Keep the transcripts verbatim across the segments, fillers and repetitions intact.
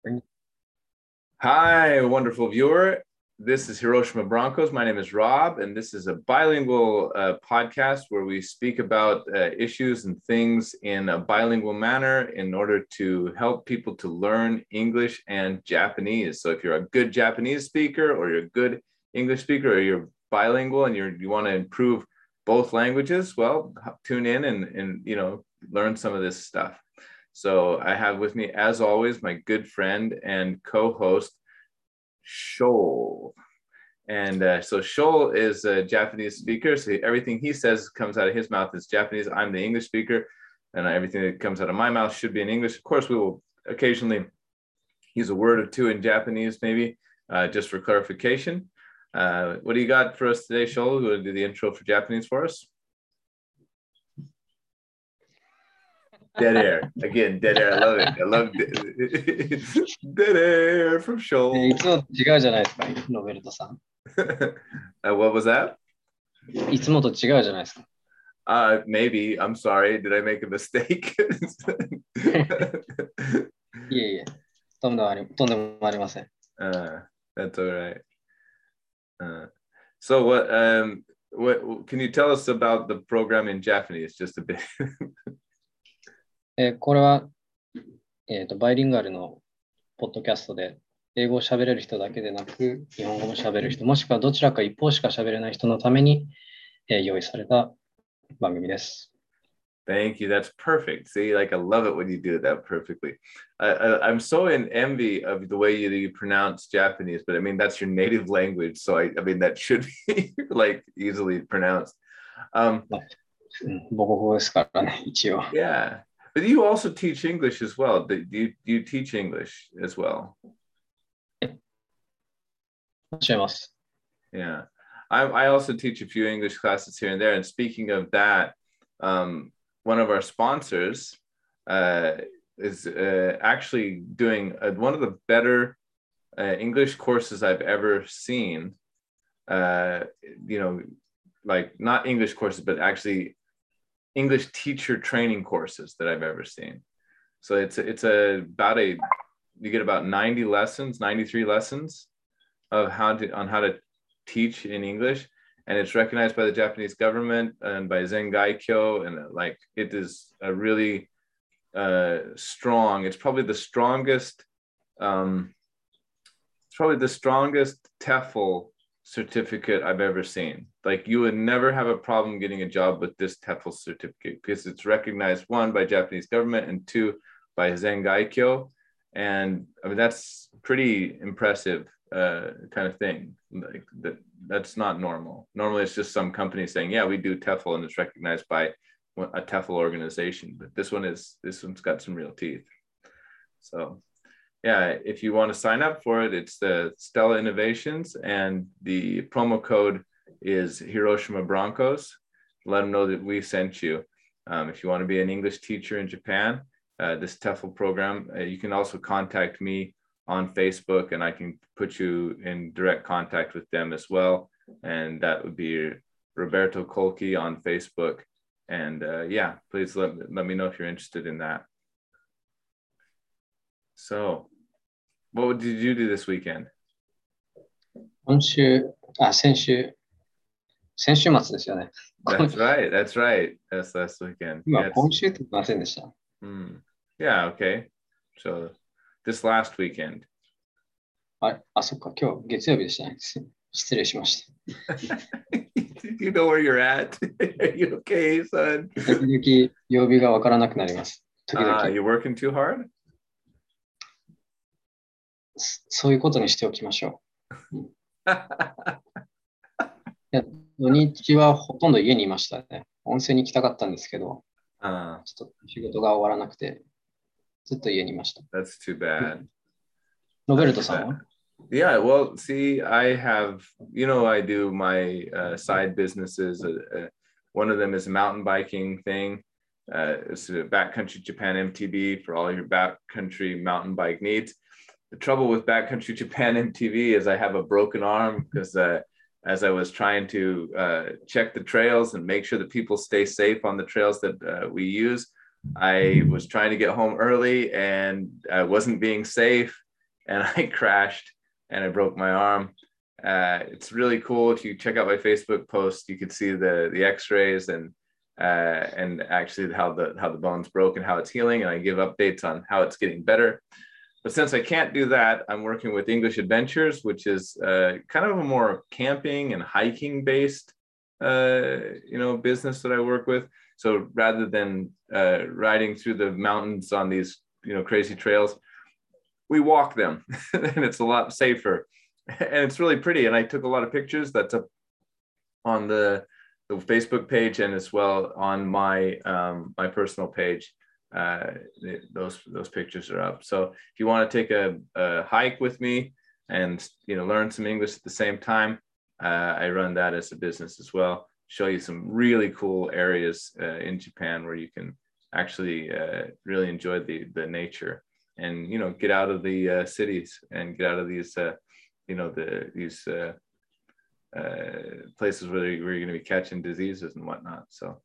Hi, wonderful viewer. This is Hiroshima Broncos. My name is Rob, and this is a bilingual uh, podcast where we speak about uh, issues and things in a bilingual manner in order to help people to learn English and Japanese. So if you're a good Japanese speaker or you're a good English speaker or you're bilingual and you're, you want to improve both languages, well, tune in and, and you know, learn some of this stuff. So I have with me, as always, my good friend and co-host, Shoal. And uh, so Shoal is a Japanese speaker. So everything he says comes out of his mouth is Japanese. I'm the English speaker, and everything that comes out of my mouth should be in English. Of course, we will occasionally use a word or two in Japanese, maybe, uh, just for clarification. Uh, what do you got for us today, Shoal? You want to do the intro for Japanese for us? Dead air. Again, dead air. I love it. I love it. Dead air from Shoal. いつもと違うじゃないですか、ロベルトさん。 uh, what was that? いつもと違うじゃないですか。 Uh, maybe. I'm sorry. Did I make a mistake? いえいえ、とんでもあり、とんでもありません。 Uh, that's all right. Uh, so what, um, what, can you tell us about the program in Japanese just a bit? えーこれは、えーと、バイリンガルのポッドキャストで、英語を喋れる人だけでなく、日本語も喋れる人、もしくはどちらか一方しか喋れない人のために、えー用意された番組です。 Thank you. That's perfect. See, like I love it when you do that perfectly. I, I, I'm so in envy of the way you, you pronounce Japanese, but I mean, that's your native language. So I, I mean, that should be like easily pronounced. Um, うん母国語ですからね、一応。 yeah. But you also teach English as well. Do you, do you teach English as well? 教えます。 Yeah. I, I also teach a few English classes here and there. And speaking of that, um, one of our sponsors uh, is uh, actually doing uh, one of the better uh, English courses I've ever seen. Uh, you know, like not English courses, but actually English teacher training courses that I've ever seen. So it's it's a about a you get about ninety lessons, ninety-three lessons of how to on how to teach in English, and it's recognized by the Japanese government and by Zengaikyo, and like it is a really uh, strong. It's probably the strongest. Um, it's probably the strongest TEFL certificate I've ever seen. Like you would never have a problem getting a job with this TEFL certificate because it's recognized, one, by Japanese government and two, by Zengaikyo. And I mean, that's pretty impressive uh, kind of thing. Like that, that's not normal. Normally it's just some company saying, yeah, we do TEFL and it's recognized by a TEFL organization. But this one is, this one's got some real teeth. So yeah, if you want to sign up for it, it's the Stella Innovations, and the promo code is Hiroshima Broncos. Let them know that we sent you. Um, if you want to be an English teacher in Japan, uh, this TEFL program, uh, you can also contact me on Facebook, and I can put you in direct contact with them as well. And that would be Roberto Colchi on Facebook. And uh, yeah, please let, let me know if you're interested in that. So, what did you do this weekend? 今週、あ、先週、先週末ですよね。 That's right. That's right. That's last weekend. 今、 Yes. 今週って言いませんでした。 Mm. Yeah. Okay. So this last weekend. あ、あ、そっか、今日月曜日でしたね。す失礼しました。 You know where you're at. Are you okay, son? 時々曜日がわからなくなります。時々、 Uh, you're working too hard? そそういうことにしておきましょう。うんいや土日はほとんど家にいましたね。温泉に行きたかったんですけど、 uh, ちょっと仕事が終わらなくて、ずっと家にいました。 that's too bad. ロベルトさんは？ Yeah, well, see, I have, you know, I do my uh, side businesses. Uh, uh, one of them is a mountain biking thing. Uh, it's a Backcountry Japan M T B for all your backcountry mountain bike needs. The trouble with Backcountry Japan M T B is I have a broken arm because uh, as I was trying to uh, check the trails and make sure that people stay safe on the trails that uh, we use, I was trying to get home early and I wasn't being safe. and I crashed and I broke my arm. Uh, it's really cool. If you check out my Facebook post, you can see the the X-rays and uh, and actually how the how the bone's broke and how it's healing. And I give updates on how it's getting better. But since I can't do that, I'm working with English Adventures, which is uh, kind of a more camping and hiking based, uh, you know, business that I work with. So rather than uh, riding through the mountains on these, you know, crazy trails, we walk them, and it's a lot safer, and it's really pretty. And I took a lot of pictures. That's up on the the Facebook page and as well on my um, my personal page. Uh, those those pictures are up. So if you want to take a, a hike with me and you know learn some English at the same time, uh, I run that as a business as well. Show you some really cool areas uh, in Japan where you can actually uh, really enjoy the the nature and you know get out of the uh, cities and get out of these uh, you know the these uh, uh, places where, you, where you're going to be catching diseases and whatnot. So.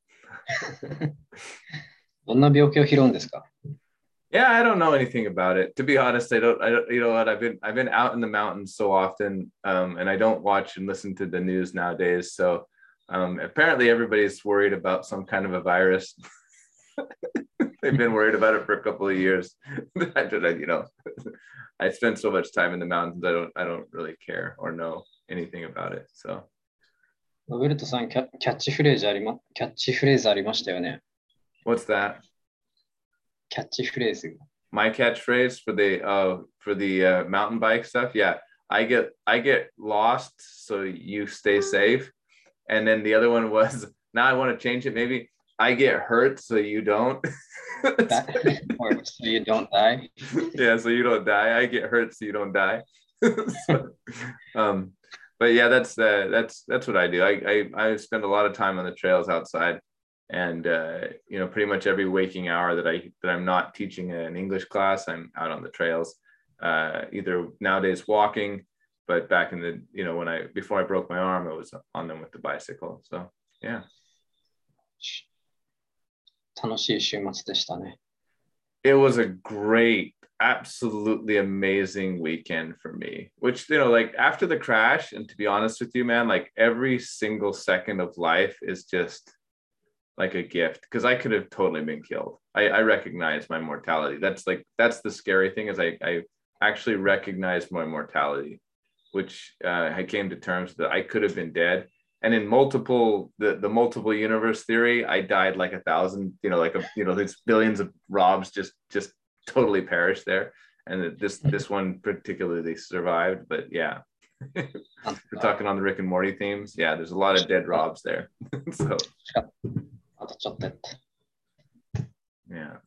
どんな病気を拾うんですか? Yeah, I don't know anything about it. To be honest, I don't. I don't. You know what? I've been I've been out in the mountains so often, um, and I don't watch and listen to the news nowadays. So um, apparently, everybody's worried about some kind of a virus. They've been worried about it for a couple of years. I don't, you know, I spend so much time in the mountains. I don't. I don't really care or know anything about it. So. ロベルトさん、キャ、キャッチフレーズありま、キャッチフレーズありましたよね。 What's that? キャッチフレーズ. My catchphrase for the uh for the uh, mountain bike stuff. Yeah, I get I get lost, so you stay safe. And then the other one was now I want to change it. Maybe I get hurt, so you don't. Or so you don't die. Yeah, so you don't die. I get hurt, so you don't die. So, um, but yeah, that's uh, that's that's what I do. I, I I spend a lot of time on the trails outside. And uh, you know, pretty much every waking hour that I that I'm not teaching an English class, I'm out on the trails, uh, either nowadays walking, but back in the you know when I before I broke my arm, I was on them with the bicycle. So yeah. 楽しい週末でしたね. It was a great, absolutely amazing weekend for me. Which you know, like after the crash, and to be honest with you, man, like every single second of life is just like a gift, because I could have totally been killed. I, I recognize my mortality. That's like, that's the scary thing is I, I actually recognize my mortality, which uh, I came to terms that I could have been dead. And in multiple, the, the multiple universe theory, I died like a thousand, you know, like, a, you know, there's billions of Robs just, just totally perished there. And this, this one particularly survived, but yeah. We're talking on the Rick and Morty themes. Yeah, there's a lot of dead Robs there. So. Yeah.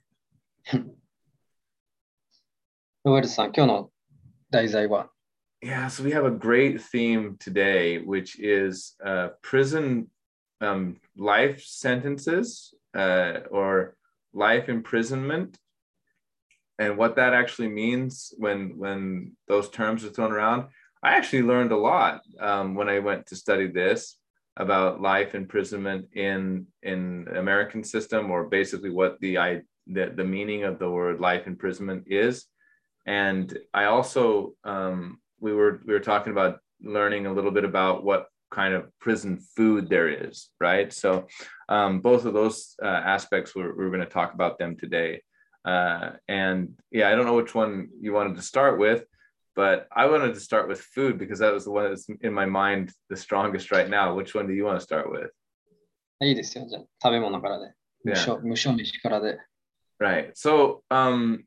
ロベルトさん、今日の題材は? Yeah, so we have a great theme today, which is uh, prison um, life sentences uh, or life imprisonment, and what that actually means when when those terms are thrown around. I actually learned a lot um, when I went to study this about life imprisonment in in American system, or basically what the I the, the meaning of the word life imprisonment is. And I also um, we were we were talking about learning a little bit about what kind of prison food there is, right? So um, both of those uh, aspects we're, we're going to talk about them today. Uh, and yeah, I don't know which one you wanted to start with, but I wanted to start with food because that was the one that's in my mind the strongest right now. Which one do you want to start with? いいですよ。じゃあ食べ物からで。無償、無償飯からで。 Right. So um,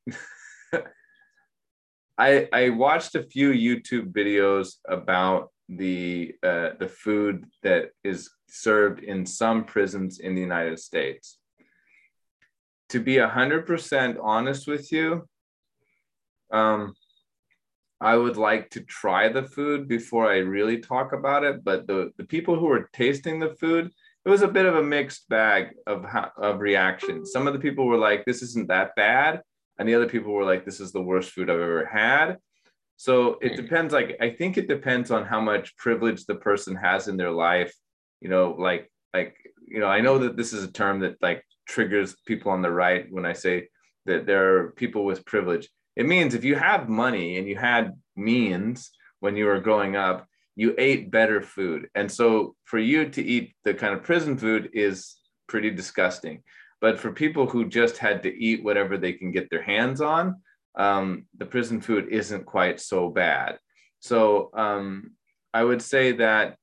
I I watched a few YouTube videos about the uh, the food that is served in some prisons in the United States. To be a hundred percent honest with you, um, I would like to try the food before I really talk about it. But the, the people who were tasting the food, it was a bit of a mixed bag of, of reactions. Some of the people were like, this isn't that bad. And the other people were like, this is the worst food I've ever had. So it depends. Like, I think it depends on how much privilege the person has in their life. You know, like, like, you know, I know that this is a term that like triggers people on the right when I say that there are people with privilege. It means if you have money and you had means when you were growing up, you ate better food. And so for you to eat the kind of prison food is pretty disgusting. But for people who just had to eat whatever they can get their hands on, um, the prison food isn't quite so bad. So um, I would say that,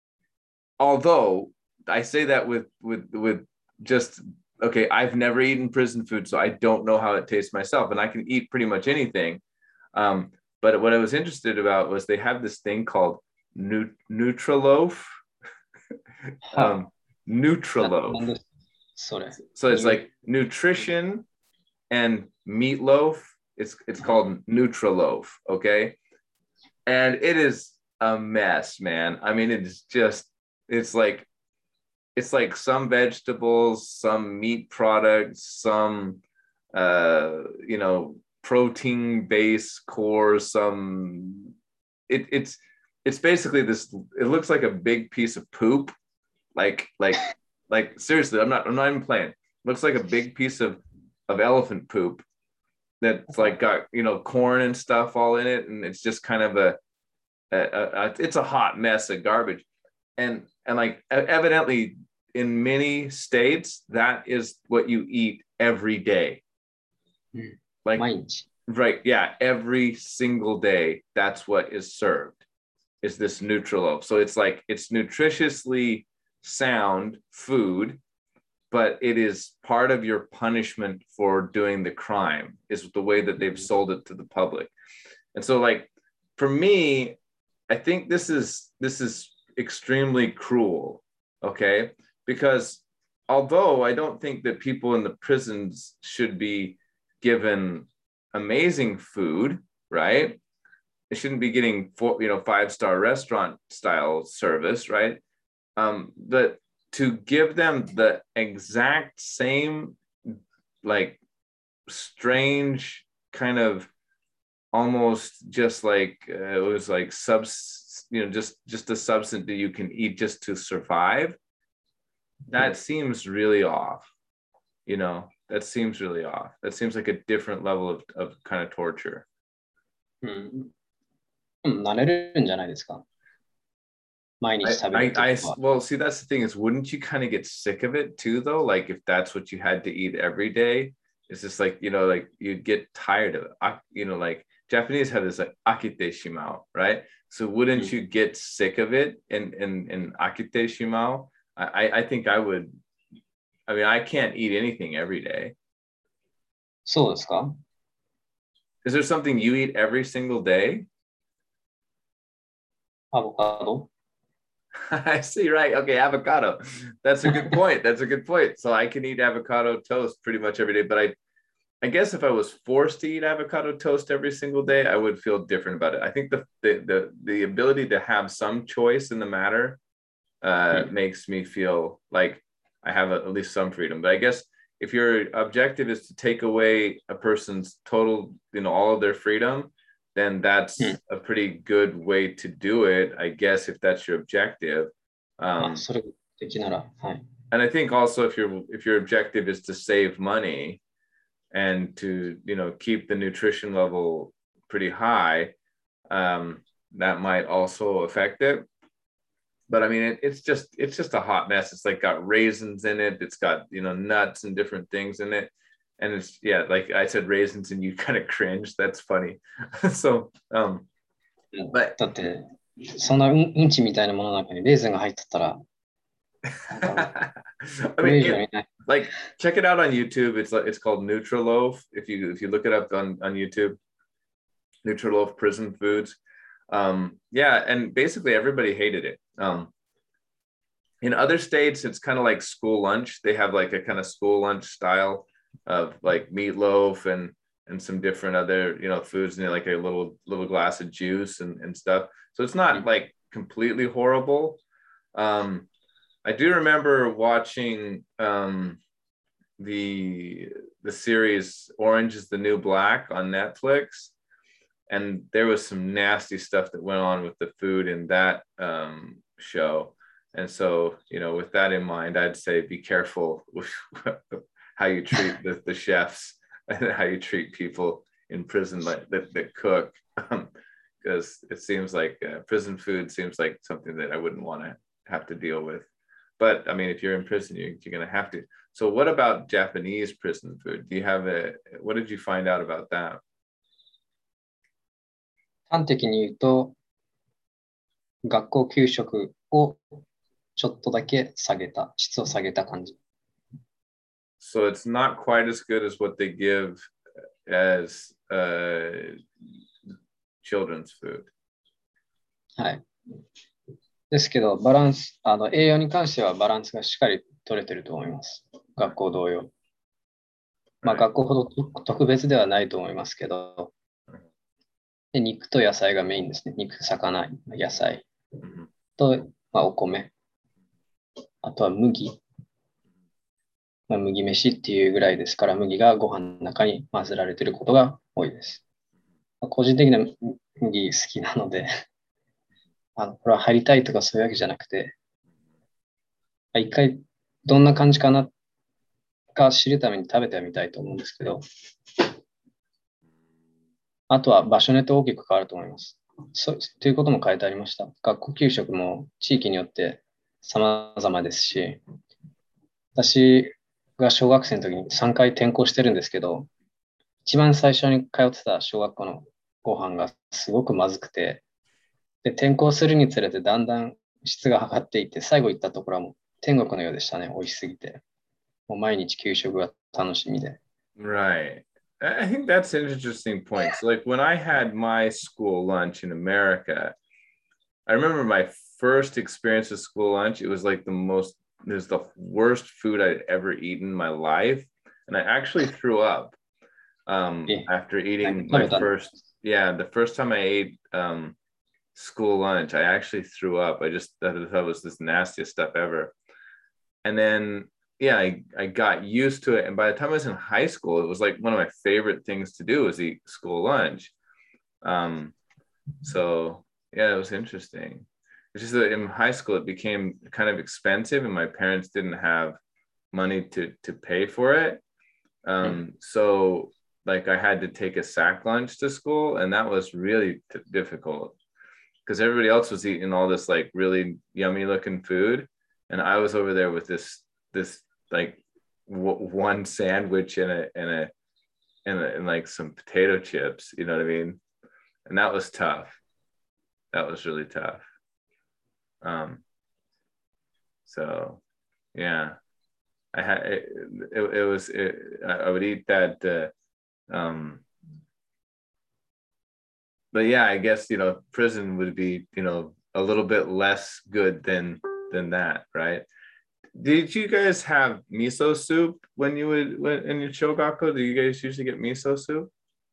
although I say that with with with just, okay, I've never eaten prison food, so I don't know how it tastes myself, and I can eat pretty much anything. Um, but what I was interested about was they have this thing called nu- Nutriloaf. um, Nutriloaf. So it's like nutrition and meatloaf. It's it's called Nutriloaf, okay? And it is a mess, man. I mean, it's just, it's like, it's like some vegetables, some meat products, some, uh, you know, protein-based core, some, it, it's, it's basically this, it looks like a big piece of poop. Like, like, like seriously, I'm not, I'm not even playing. It looks like a big piece of, of elephant poop that's like got, you know, corn and stuff all in it. And it's just kind of a, a, a it's a hot mess of garbage. And, and like evidently in many states, that is what you eat every day. Like, right. Yeah. Every single day, that's what is served, is this Nutriloaf. So it's like, it's nutritiously sound food, but it is part of your punishment for doing the crime, is the way that they've sold it to the public. And so like, for me, I think this is, this is extremely cruel. Okay. Because although I don't think that people in the prisons should be given amazing food, right? They shouldn't be getting four, you know, five-star restaurant style service, right? Um, but to give them the exact same, like, strange kind of almost just like uh, it was like subs, you know, just just a substance that you can eat just to survive. That seems really off, you know. That seems really off. That seems like a different level of, of kind of torture. Hmm. 慣れるんじゃないですか。毎日食べるってことは。 I, I, I, well, see, that's the thing is, wouldn't you kind of get sick of it too, though? Like, if that's what you had to eat every day, it's just like, you know, like you'd get tired of it. You know, like Japanese have this like akite shimao, right? So wouldn't mm. you get sick of it in in in akite shimao? I I think I would. I mean, I can't eat anything every day. そうですか? Is there something you eat every single day? Avocado. I see, right. Okay, avocado. That's a good point. That's a good point. So I can eat avocado toast pretty much every day, but I I guess if I was forced to eat avocado toast every single day, I would feel different about it. I think the the the, the ability to have some choice in the matter uh, mm. makes me feel like I have a, at least some freedom. But I guess if your objective is to take away a person's total, you know, all of their freedom, then that's mm. a pretty good way to do it, I guess, if that's your objective. Um, and I think also if your if your objective is to save money and to, you know, keep the nutrition level pretty high, um, that might also affect it. But I mean, it, it's just it's just a hot mess. It's like got raisins in it. It's got, you know, nuts and different things in it. And it's, yeah, like I said, raisins, and you kind of cringe. That's funny. So, um, but だってそんなうんちみたいなものの中にレーズンが入ってたら I mean, it, like, check it out on YouTube. It's like, it's called Nutriloaf. If you if you look it up on, on YouTube, Nutriloaf prison foods. Um, yeah, and basically everybody hated it. Um, in other states, it's kind of like school lunch. They have like a kind of school lunch style of like meatloaf and and some different other, you know, foods, and like a little little glass of juice and, and stuff. So it's not like completely horrible. Um, I do remember watching um, the the series Orange is the New Black on Netflix, and there was some nasty stuff that went on with the food in that um, show. And so, you know, with that in mind, I'd say be careful with how you treat the, the chefs and how you treat people in prison like that, that cook, because um, it seems like uh, prison food seems like something that I wouldn't want to have to deal with. But I mean, if you're in prison, you're, you're going to have to. So what about Japanese prison food? Do you have a, what did you find out about that? 端的に言うと、学校給食をちょっとだけ下げた、質を下げた感じ。 So it's not quite as good as what they give as uh, children's food. はい。ですけど、バランス、あの栄養に関してはバランスがしっかり取れてると思います。学校同様。まあ、学校ほど特別ではないと思いますけど、で肉と野菜がメインですね。肉、魚、野菜と、まあ、お米。あとは麦。まあ、麦飯っていうぐらいですから、麦がご飯の中に混ぜられていることが多いです。まあ、個人的な麦好きなのであの、これは入りたいとかそういうわけじゃなくて、一回どんな感じかなか知るために食べてみたいと思うんですけど、あとは場所によって大きく変わると思います。そうということも書いてありました。学校給食も地域によって様々ですし、私が小学生の時にさんかい転校してるんですけど、一番最初に通ってた小学校のご飯がすごくまずくて、で転校するにつれてだんだん質が上がっていって、最後行ったところはもう天国のようでしたね、美味しすぎて。もう毎日給食が楽しみで。 Right. I think that's an interesting point. So, like when I had my school lunch in America, I remember my first experience with school lunch. It was like the most, it was the worst food I'd ever eaten in my life. And I actually threw up um, after eating my first, yeah, the first time I ate um, school lunch, I actually threw up. I just thought it was this nastiest stuff ever. And then yeah, I, I got used to it. And by the time I was in high school, it was like one of my favorite things to do was eat school lunch. Um, so yeah, it was interesting. It's just that in high school, it became kind of expensive and my parents didn't have money to, to pay for it. Um, so like I had to take a sack lunch to school and that was really t- difficult because everybody else was eating all this like really yummy looking food. And I was over there with this, this like w- one sandwich and a and a and, a and like some potato chips, you know what I mean? And that was tough. That was really tough. Um. So, yeah, I had it. It, it was. It, I would eat that. Uh, um. But yeah, I guess you know, prison would be you know a little bit less good than than that, right? Did you guys have miso soup when you would when, in your shogaku? Do you guys usually get miso soup?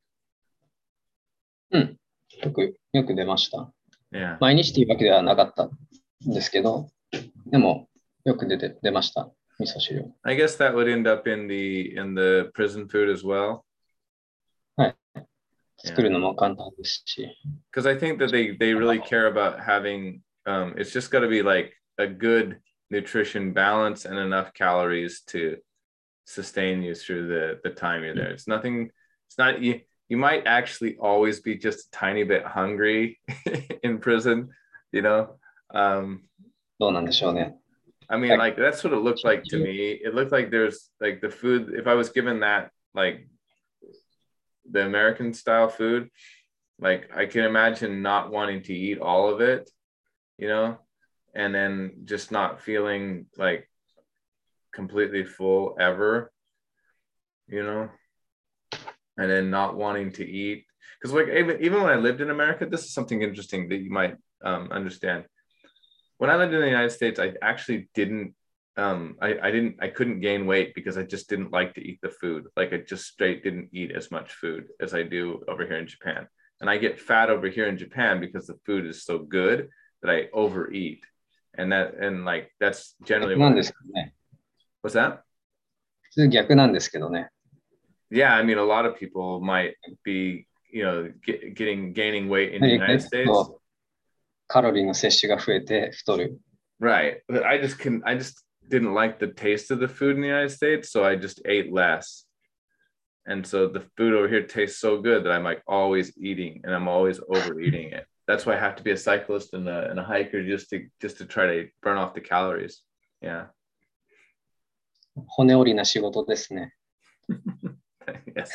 うん。よく、よく出ました。 Yeah. 毎日というわけではなかったんですけど、でもよく出て出ました。味噌汁。 I guess that would end up in the in the prison food as well. はい。作るのも簡単ですし。 Because I think that they they really care about having um it's just got to be like a good nutrition balance and enough calories to sustain you through the the time you're there. It's nothing, it's not you you might actually always be just a tiny bit hungry in prison, you know. Um どうなんでしょうね。 I mean, like that's what it looked like to me. It looked like there's like the food, if I was given that like the American style food, like I can imagine not wanting to eat all of it, you know, and then just not feeling like completely full ever, you know, and then not wanting to eat. Because like even, even when I lived in America, this is something interesting that you might um, understand. When I lived in the United States, I actually didn't, um, I, I didn't, I couldn't gain weight because I just didn't like to eat the food. Like I just straight didn't eat as much food as I do over here in Japan. And I get fat over here in Japan because the food is so good that I overeat. And that, and like, that's generally what. なんですけどね。 What's that? 普通逆なんですけどね。 Yeah, I mean, a lot of people might be, you know, get, getting, gaining weight in the United States. カロリーの摂取が増えて太る。 Right. But I just can, I just didn't like the taste of the food in the United States. So I just ate less. And so the food over here tastes so good that I'm like always eating and I'm always overeating it. That's why I have to be a cyclist and a, and a hiker just to just to try to burn off the calories. Yeah. 骨折りな仕事ですね。 Yes.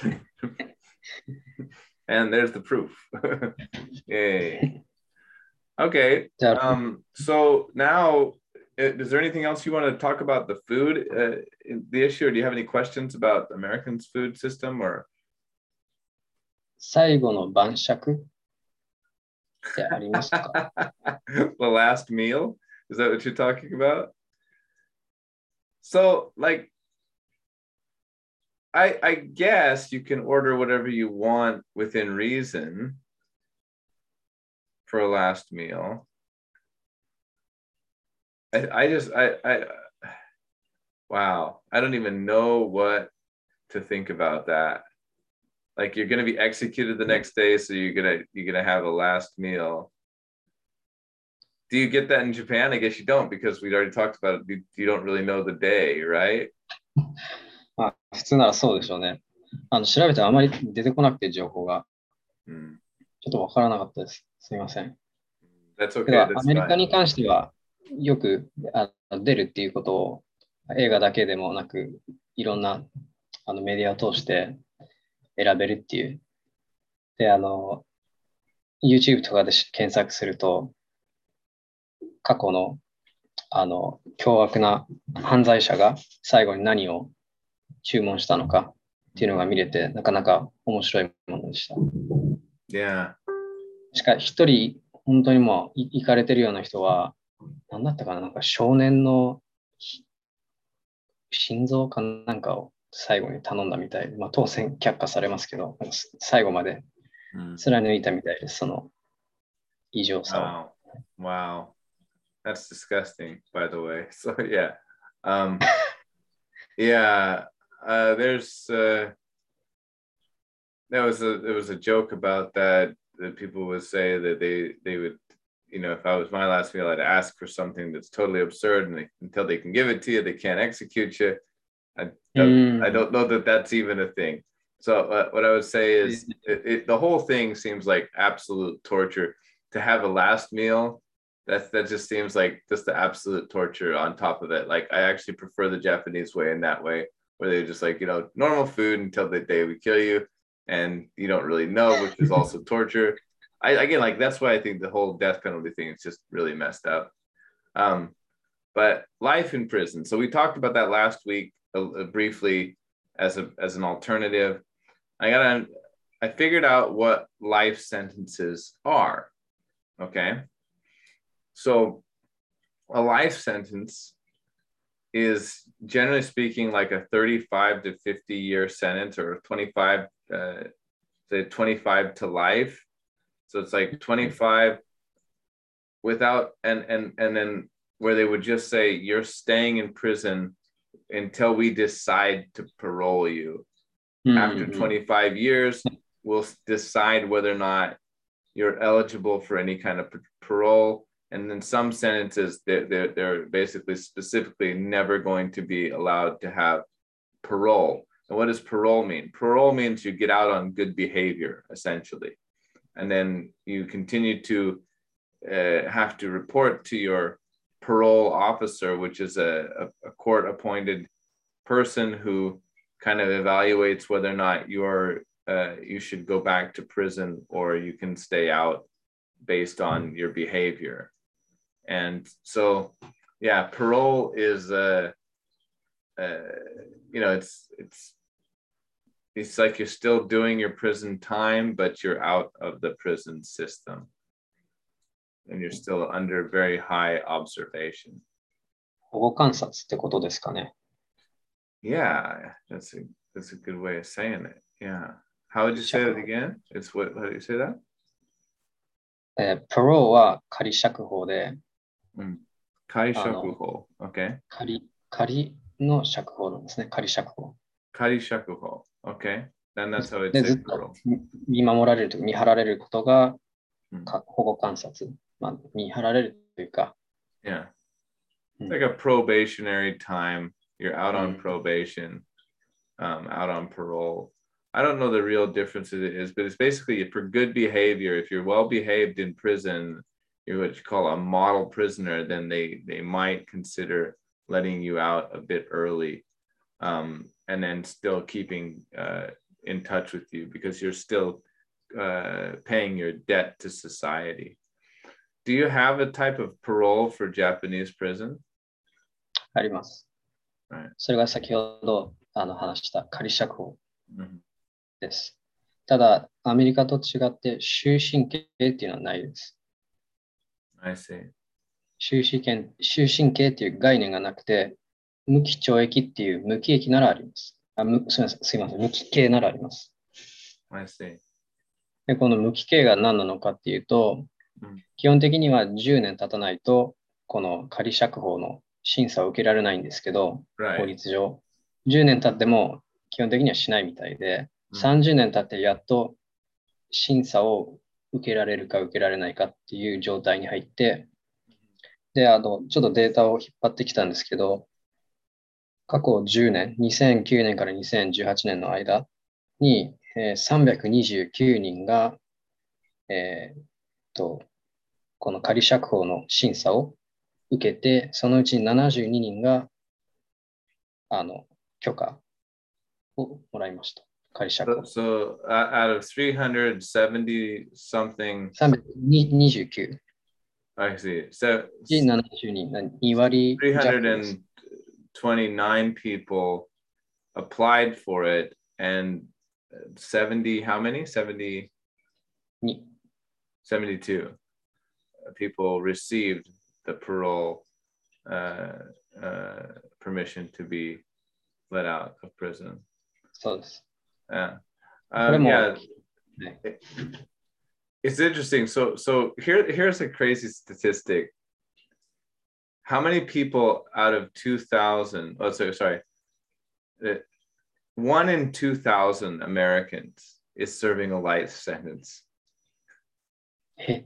And there's the proof. Yay. Okay. Um, so now, is there anything else you want to talk about the food, uh, the issue, or do you have any questions about Americans' food system or? 最後の晩酌ってありますか？ The last meal? Is that what you're talking about? So, like, I, I guess you can order whatever you want within reason for a last meal. I, I just, I, I, wow, I don't even know what to think about that. Like you're going to be executed the next day, so you're going to, you're going to have a last meal. Do you get that in Japan? I guess you don't, because we already talked about it. You, you don't really know the day, right? まあ、普通ならそうでしょうね。あの調べてあまり出てこなくて情報が、うん、ちょっとわからなかったです。すみません。 That's okay. That's アメリカに関してはよくあ出るっていうことを映画だけでもなくいろんなあのメディアを通して選べるっていう。で、あの、YouTube とかで検索すると過去のあの凶悪な犯罪者が最後に何を注文したのかっていうのが見れて、なかなか面白いものでした。 Yeah. しかし、一人、本当にもう行かれてるような人は、何だったかな、なんか少年の心臓かなんかを最後に頼んだみたいで、まあ、当然却下されますけど、最後まで貫いたみたいです、その異常さを。Wow. Wow. That's disgusting, by the way. So, yeah. Um, yeah. Uh, there's uh, there was a there was a joke about that that people would say that they they would, you know, if I was my last meal, I'd ask for something that's totally absurd, and they, until they can give it to you, they can't execute you. I don't, mm. I don't know that that's even a thing. So uh, what I would say is it, it, the whole thing seems like absolute torture. To have a last meal, that's that just seems like just the absolute torture on top of it. Like I actually prefer the Japanese way in that way, where they're just like, you know, normal food until the day we kill you, and you don't really know, which is also torture. I again, like that's why I think the whole death penalty thing is just really messed up. Um, but life in prison. So we talked about that last week uh, briefly as a as an alternative. I got I figured out what life sentences are. Okay. So a life sentence is generally speaking like a thirty-five to fifty year sentence, or twenty-five uh, to twenty-five to life. So it's like twenty-five without, and and and then where they would just say you're staying in prison until we decide to parole you. Mm-hmm. After twenty-five years, we'll decide whether or not you're eligible for any kind of parole. And then some sentences, they're, they're, they're basically specifically never going to be allowed to have parole. And what does parole mean? Parole means you get out on good behavior, essentially. And then you continue to uh, have to report to your parole officer, which is a, a, a court-appointed person who kind of evaluates whether or not you're uh, you should go back to prison or you can stay out based on your behavior. And so, yeah, parole is, uh, uh, you know, it's it's it's like you're still doing your prison time, but you're out of the prison system, and you're still under very high observation. 保護観察ってことですかね。 Yeah, that's a that's a good way of saying it. Yeah. How would you say it again? It's what? How do you say that? えー、parole は仮釈放で。 うん。仮釈放。OK。 仮、仮の釈放なんですね。仮釈放。 仮釈放。OK。Then that's how it's said parole. 見守られるというか、見張られることが、うん、保護観察。まあ、見張られるというか。 Yeah. It's like a probationary time. You're out on probation. um, out on parole. I don't know the real difference it is, but it's basically for good behavior. If you're well behaved in prison, you're what you call a model prisoner, then they they might consider letting you out a bit early, um, and then still keeping uh, in touch with you because you're still uh, paying your debt to society. Do you have a type of parole for Japanese prison? あります。 Right. それが先ほどあの話した仮釈放 Mhm. です。ただ、アメリカと違って終身刑っていうのはないです。 I see. 終身刑、終身刑っていう概念がなくて、無期懲役っていう無期刑ならあります。あむすみません、すみません、無期刑ならあります。 I see. で、この無期刑が何なのかっていうと、 うん、 基本的にはじゅうねん経たないと、この仮釈放の審査を受けられないんですけど、 Right. 法律上。じゅうねん経っても基本的にはしないみたいで、 うん、 さんじゅうねん経ってやっと審査を受けられるか受けられないかっていう状態に入って、で、あの、ちょっとデータを引っ張ってきたんですけど、過去じゅうねん、にせんきゅうねんからにせんじゅうはちねんの間に、えー、さんびゃくにじゅうきゅうにんが、えー、と、この仮釈放の審査を受けて、そのうちななじゅうににんが、あの、許可をもらいました。仮釈放。 So, so uh, out of three hundred seventy something, さんびゃくにじゅうきゅう。 I see. So, ななじゅうに、に割弱です。 three hundred twenty-nine people applied for it, and seventy, how many? seventy, に seventy-two people received the parole uh, uh, permission to be let out of prison. そうです。 Yeah. これ Um, も、 yeah. ね、 It's interesting. So, so here, here's a crazy statistic. How many people out of two thousand? Oh, sorry, sorry. Uh, One in two thousand Americans is serving a life sentence. え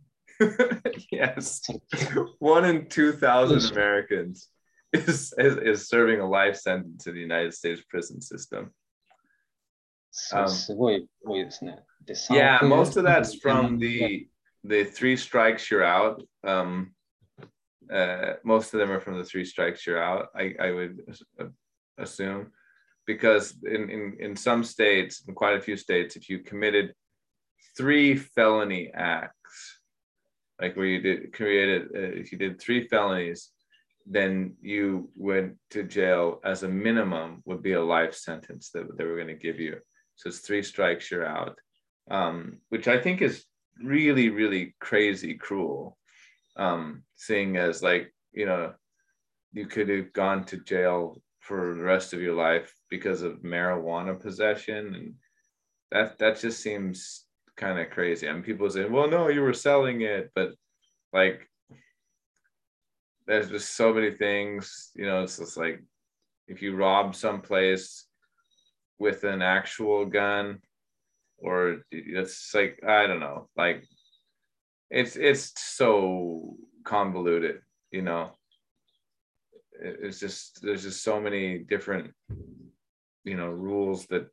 Yes, one in two thousand Americans is, is is serving a life sentence in the United States prison system. そうすごい多いですね。で、 Yeah, さんおく most of that's from the the three strikes you're out. Um, uh, most of them are from the three strikes you're out. I I would assume, because in in in some states, in quite a few states, if you committed three felony acts, like where you did created, uh, if you did three felonies, then you went to jail as a minimum would be a life sentence that they were going to give you. So it's three strikes, you're out, um, which I think is really, really crazy cruel, um, seeing as, like, you know, you could have gone to jail for the rest of your life because of marijuana possession. And that, that just seems kind of crazy. I mean, people say, well, no, you were selling it, but like, there's just so many things, you know, it's just like, if you rob someplace with an actual gun, or it's like, I don't know, like, it's, it's so convoluted, you know, it's just, there's just so many different, you know, rules that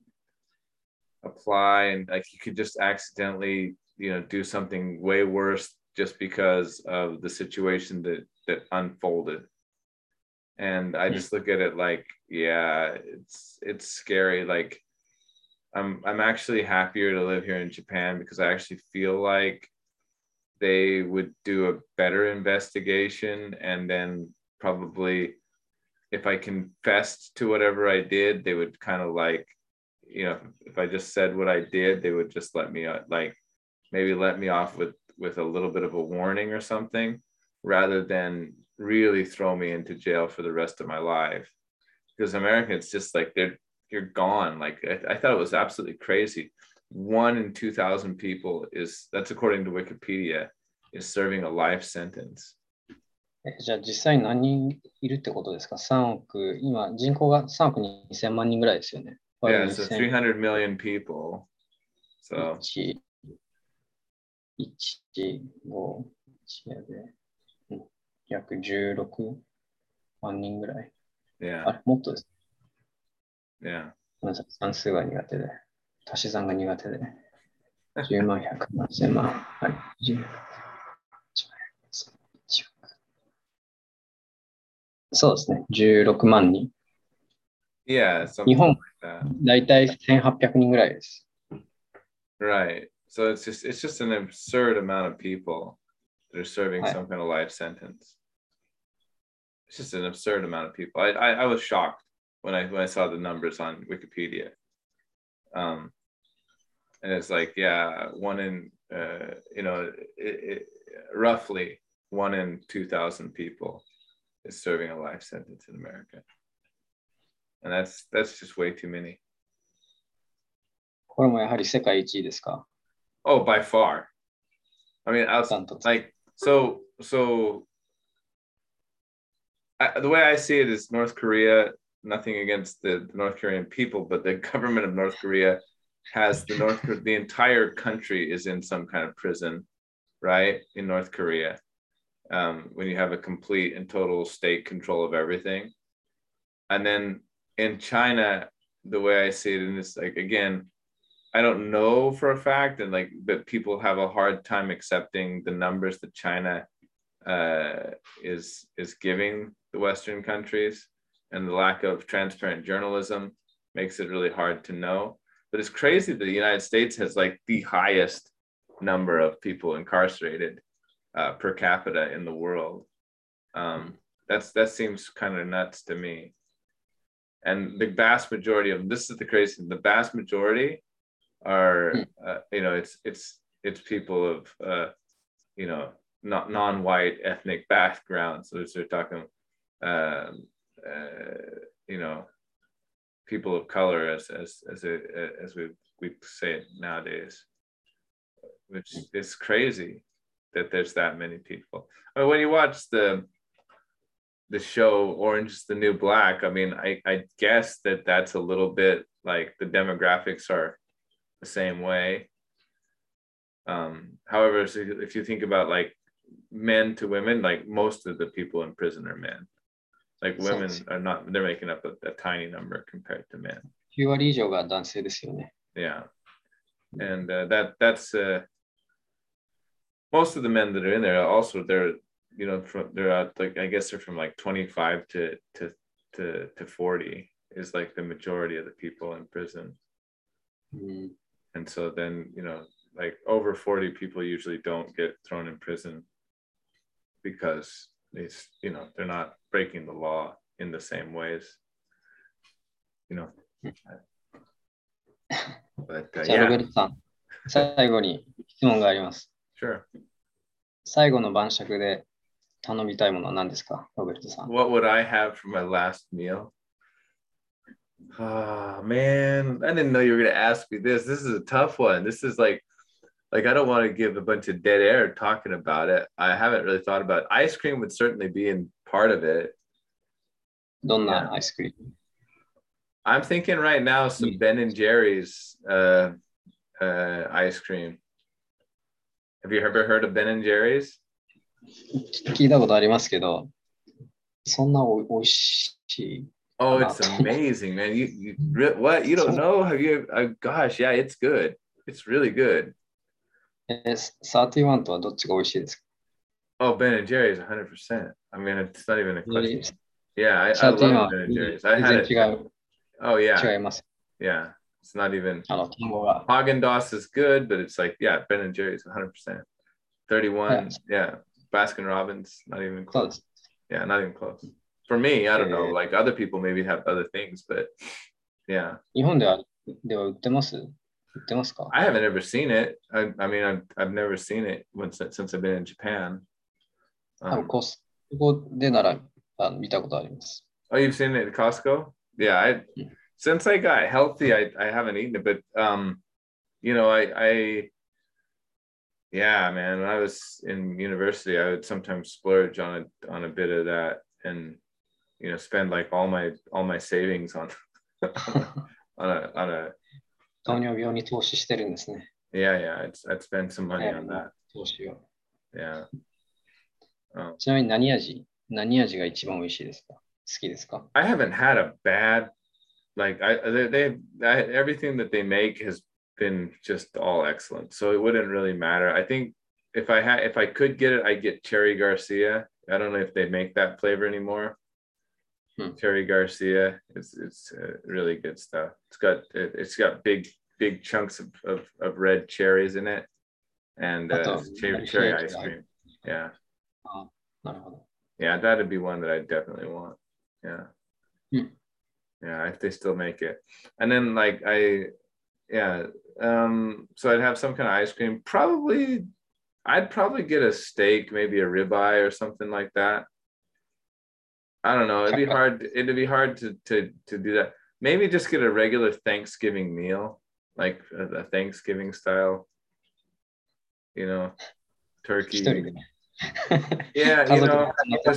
apply, and like, you could just accidentally, you know, do something way worse just because of the situation that that unfolded. And I just look at it like, yeah, it's it's scary. Like, I'm I'm actually happier to live here in Japan because I actually feel like they would do a better investigation, and then probably, if I confessed to whatever I did, they would kind of like, you know, if I just said what I did, they would just let me, like, maybe let me off with with a little bit of a warning or something, rather than really throw me into jail for the rest of my life. Because America, it's just like, they're you're gone. Like, I, I thought it was absolutely crazy. One in two thousand people is, that's according to Wikipedia, is serving a life sentence. じゃあ実際何人いるってことですか？ さん 億、今人口がさんおくにせん万人ぐらいですよね。 Yeah, so three hundred million people. So いち、いち、ご、いちやで、うん、約じゅうろくまん人ぐらい。 yeah, あれ、もっとです。 yeah. ごめんなさい、算数が苦手で、足し算が苦手で、じゅうまん、ひゃくまん、せんまん、はい、じゅうそうですね、じゅうろくまん人。 Yeah, 日 something 本、 like that. だいたいせんはっぴゃくにんぐらいです。 Right. So it's just it's just an absurd amount of people that are serving はい。 some kind of life sentence. It's just an absurd amount of people. I I, I was shocked when I when I saw the numbers on Wikipedia. Um, and it's like, yeah, one in uh, you know, it, it, roughly one in two thousand people is serving a life sentence in America, and that's that's just way too many. これもやはり世界一位ですか？ Oh, by far. I mean, I was ダントツ。 like, so so. I, the way I see it is North Korea. Nothing against the, the North Korean people, but the government of North Korea has the North the entire country is in some kind of prison, right? In North Korea, um, when you have a complete and total state control of everything, and then in China, the way I see it, and it's like again, I don't know for a fact, and like, but people have a hard time accepting the numbers that China uh, is is giving the Western countries, and the lack of transparent journalism makes it really hard to know. But it's crazy that the United States has like the highest number of people incarcerated uh, per capita in the world. Um, that's that seems kind of nuts to me. And the vast majority of them, this is the crazy thing, the vast majority are uh, you know it's it's it's people of uh, you know not non-white ethnic backgrounds. So they're talking um, uh, you know people of color as as as a, as we we say it nowadays, which is crazy that there's that many people. I mean, when you watch the the show Orange is the New Black, I mean, I I guess that that's a little bit like the demographics are the same way. Um, however, so if you think about like men to women, like most of the people in prison are men. Like そうです women are not, they're making up a, a tiny number compared to men. きゅう割以上が男性ですよね。 Yeah. And uh, that that's uh, most of the men that are in there also they're you know from they're out like I guess they're from like twenty-five to to to to forty is like the majority of the people in prison. うん、 And so then you know like over forty people usually don't get thrown in prison because they you know they're not breaking the law in the same ways, you know. But uh, じゃあ、ロベ yeah, ルトさん、最後に質問があります。 sure. 最後の晩酌で頼みたいものは何ですか、ロベルトさん。 What would I have for my last meal? Oh man, I didn't know you were gonna ask me this. This is a tough one. This is like like I don't want to give a bunch of dead air talking about it. I haven't really thought about it. Ice cream would certainly be in part of it. どん Yeah. なアイスクリーム？ I'm thinking right now some Ben and Jerry's uh, uh, ice cream. Have you ever heard of Ben and Jerry's? 聞いたことありますけど、そんなおおいしい Oh, かな it's と思う。 amazing, man. You, you re- what? You don't know? Have you? Uh, gosh, yeah, it's good. It's really good. え、サーティワンとはどっちが美味しいですか？ Oh, Ben and Jerry's, one hundred percent. I mean, it's not even a question. サ Yeah, I, ー I ティワン love は Ben and 全 Jerry's. I had 然 it. 違う、 Oh yeah, 違います。 yeah. It's not even あの、単語が。 Haagen-Dazs is good, but it's like yeah, Ben and Jerry's, one hundred percent. はい、 thirty-one, yeah. Baskin Robbins, not even そうで close. す。 Yeah, not even close. For me, I don't know. えー Like other people maybe have other things, but yeah. 日本では、では売ってます？売ってますか？ I haven't ever seen it. I, I mean, I've, I've never seen it once since I've been in Japan. 多分 Um, コストコでならあ見たことあります。 oh, you've seen it at Costco? Yeah, I Yeah. since I got healthy, I, I haven't eaten it, but um, you know, I I yeah, man, when I was in university, I would sometimes splurge on a on a bit of that and you know, spend like all my all my savings on on a on a 糖尿病に投資してるんですね。 yeah, yeah, I'd I'd spend some money 早 on めの that. 投資を。 Yeah. Um, ちなみに何味何味が一番美味しいですか？好きですか？ I haven't had a bad like I they, they I, everything that they make has been just all excellent. So it wouldn't really matter. I think if I had if I could get it, I'd get Cherry Garcia. I don't know if they make that flavor anymore. Hmm. Cherry Garcia, it's it's uh, really good stuff. It's got it, it's got big big chunks of, of, of red cherries in it, and uh, cherry, cherry ice cream. Yeah. Oh, yeah, that'd be one that I definitely want. Yeah. Hmm. Yeah, if they still make it. And then like I, yeah, um, so I'd have some kind of ice cream. Probably, I'd probably get a steak, maybe a ribeye or something like that. I don't know. It'd be hard. It'd be hard to to to do that. Maybe just get a regular Thanksgiving meal, like a, a Thanksgiving style. You know, turkey. Yeah, you know.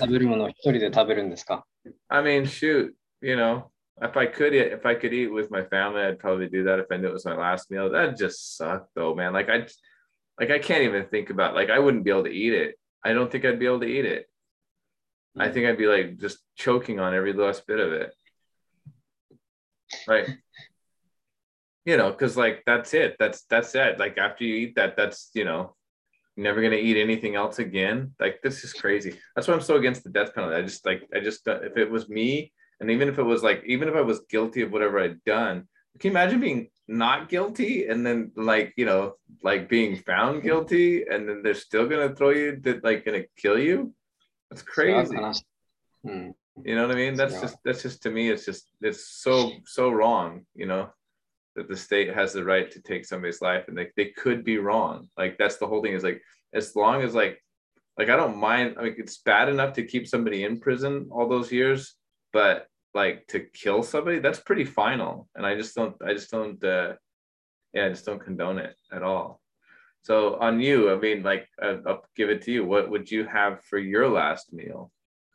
I mean, shoot. You know, if I could, if I could eat with my family, I'd probably do that. If I knew it was my last meal, that'd just suck, though, man. Like I, like I can't even think about. Like I wouldn't be able to eat it. I don't think I'd be able to eat it. I think I'd be like just choking on every last bit of it. Right. You know, because like that's it. That's that's it. Like after you eat that, that's, you know, you're never gonna eat anything else again. Like this is crazy. That's why I'm so against the death penalty. I just like I just if it was me, and even if it was like even if I was guilty of whatever I'd done, can you imagine being not guilty and then like, you know, like being found guilty and then they're still gonna throw you that like gonna kill you? That's crazy. Mm. You know what I mean? That's just that's just to me, it's just it's so so wrong, you know, that the state has the right to take somebody's life and they, they could be wrong. Like that's the whole thing is like as long as like like I don't mind, I mean it's bad enough to keep somebody in prison all those years, but like to kill somebody, that's pretty final. And I just don't I just don't uh yeah, I just don't condone it at all. So on you, I mean, like, uh, I'll give it to you. What would you have for your last meal?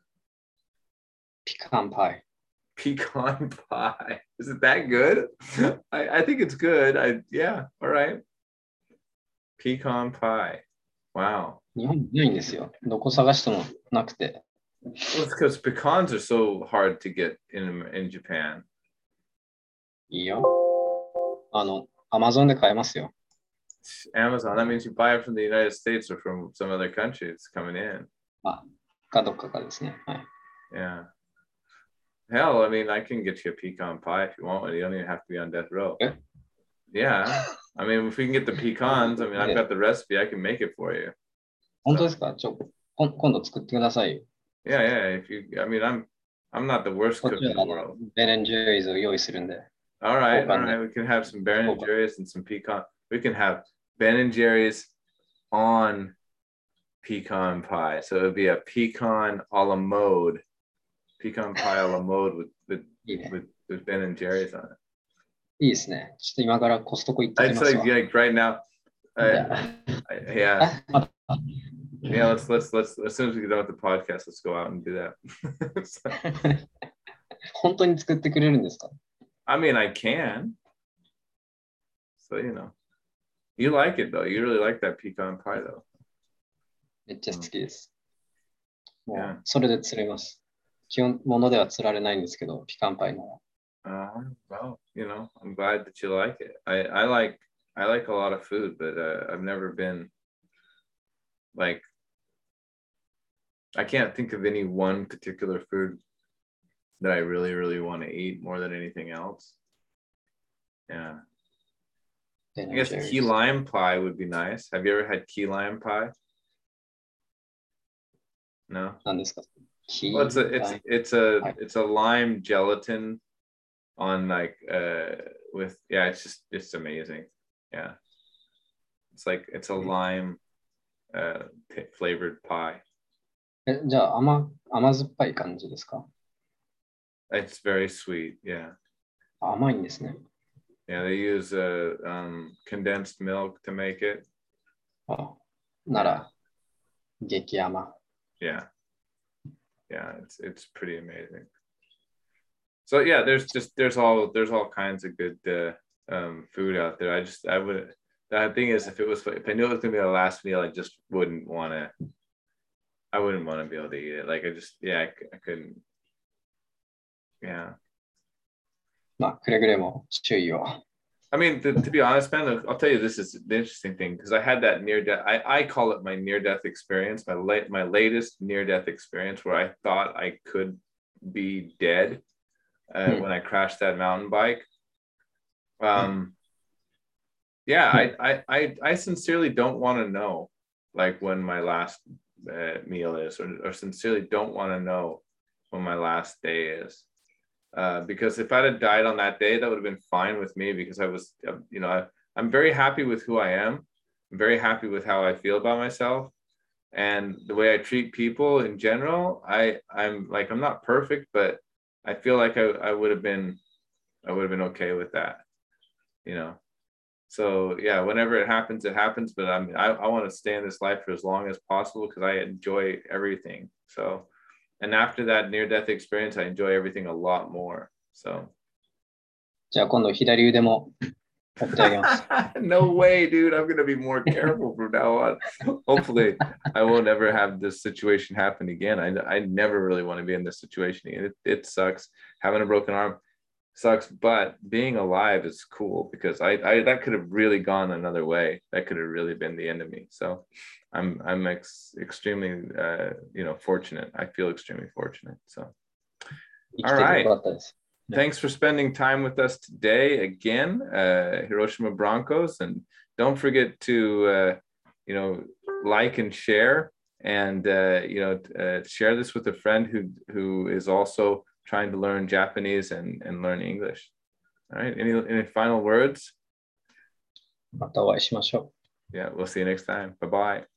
Pecan pie. Pecan pie. Is it that good? I, I think it's good. I yeah. All right. Pecan pie. Wow. 日本にないんですよ。どこ探してもなくて。 Well, it's because pecans are so hard to get in in Japan. いいよ。あの、Amazon で買えますよ。 Amazon. That means you buy it from the United States or from some other country. It's coming in. あ、かどっかかですね。はい。 Yeah. Hell, I mean, I can get you a pecan pie if you want one. You don't even have to be on death row. Eh? Yeah. I mean, if we can get the pecans, I mean, I've got the recipe. I can make it for you. 本当ですか？ちょ、こん今度作ってください。 Yeah, yeah. If you, I mean, I'm, I'm not the worst cook in the world. Ben and Jerry's を用意するんで。 All right, all right. We can have some Ben and Jerry's and some pecan. We can have Ben and Jerry's on pecan pie. So it would be a pecan a la mode. Pecan pie a la mode with with, いいね。 with, with Ben and Jerry's on it. いいですね。ちょっと今からコストコ行ってき I'd ます say わ。 like right now. I, じゃあ I, yeah, あ、また yeah. Let's let's let's as soon as we get done with the podcast, let's go out and do that. So, 本当に作ってくれるんですか？ I mean, I can. So you know, you like it though. You really like that pecan pie though. めっちゃ好きです。も Yeah. う、それで釣れます。基本、ものでは釣られないんですけど、ピカンパイの。 Uh, well, you know, I'm glad that you like it. I, I like I like a lot of food, but uh, I've never been like I can't think of any one particular food that I really really want to eat more than anything else. Yeah, I guess key lime pie would be nice. Have you ever had key lime pie? No. 何ですか？ Well, it's a it's it's a it's a lime gelatin on like uh with yeah it's just it's amazing. Yeah, it's like it's a lime uh p- flavored pie. え、じゃあ甘、甘酸っぱい感じですか？ It's very sweet. Yeah, 甘いんですね。 yeah. They use uh um condensed milk to make it. あ、なら、激甘。 Yeah, yeah. It's it's pretty amazing. So yeah, there's just there's all there's all kinds of good uh, um food out there. I just I would the thing is if it was if I knew it was gonna be the last meal, I just wouldn't want to. I wouldn't want to be able to eat it. Like I just yeah I, I couldn't. Yeah. まあ、くれぐれも注意を。 I mean, to, to be honest, man, I'll tell you this is the interesting thing because I had that near death. I, I call it my near death experience, my late my latest near death experience where I thought I could be dead uh, Hmm. when I crashed that mountain bike. Um, yeah, I, I I I sincerely don't want to know like when my last uh, meal is, or, or sincerely don't want to know when my last day is. Uh, because if I'd have died on that day, that would have been fine with me because I was, uh, you know, I, I'm very happy with who I am. I'm very happy with how I feel about myself and the way I treat people in general. I, I'm like, I'm not perfect, but I feel like I, I would have been, I would have been okay with that, you know? So yeah, whenever it happens, it happens, but I mean, I, I want to stay in this life for as long as possible because I enjoy everything. So, and after that near death experience, I enjoy everything a lot more. So じゃあ今度左腕も折ってあげます。 no way, dude. I'm gonna be more careful from now on. Hopefully, I won't ever have this situation happen again. I I never really want to be in this situation again. It, it sucks. Having a broken arm sucks, but being alive is cool because I, I that could have really gone another way. That could have really been the end of me. So I'm I'm ex, extremely uh, you know fortunate. I feel extremely fortunate. So all right. Thanks for spending time with us today again, uh, Hiroshima Broncos, and don't forget to uh, you know like and share, and uh, you know uh, share this with a friend who who is also trying to learn Japanese and, and learn English. All right. Any any final words? またお会いしましょう。 Yeah, we'll see you next time. Bye bye.